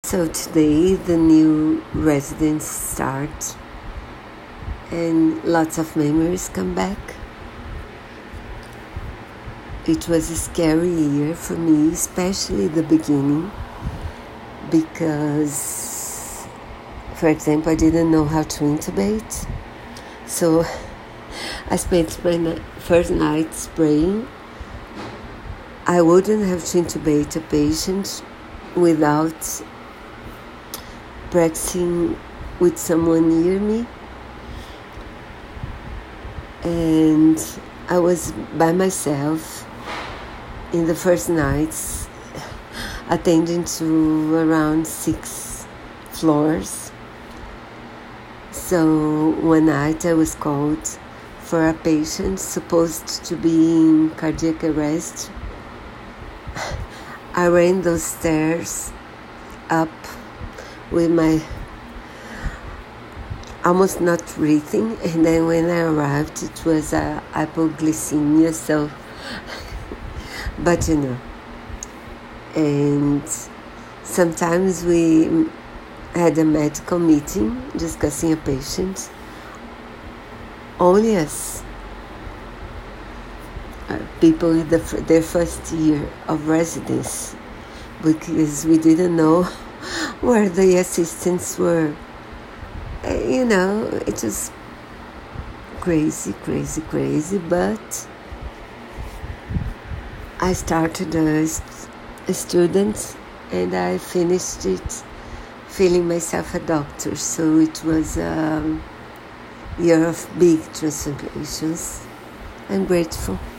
So today the new residents start and lots of memories come back. It was a scary year for me, especially the beginning, because, for example, I didn't know how to intubate. So I spent my first night praying. I wouldn't have to intubate a patient without practicing with someone near me. And I was by myself in the first nights, attending to around 6 floors. So one night I was called for a patient supposed to be in cardiac arrest. I ran those stairs up with my almost not breathing, and then when I arrived it was hypoglycemia, so but and sometimes we had a medical meeting discussing a patient, only us, people in their first year of residence, because we didn't know where the assistants were. It was crazy, but I started as a student and I finished it feeling myself a doctor. So it was a year of big transformations. I'm grateful.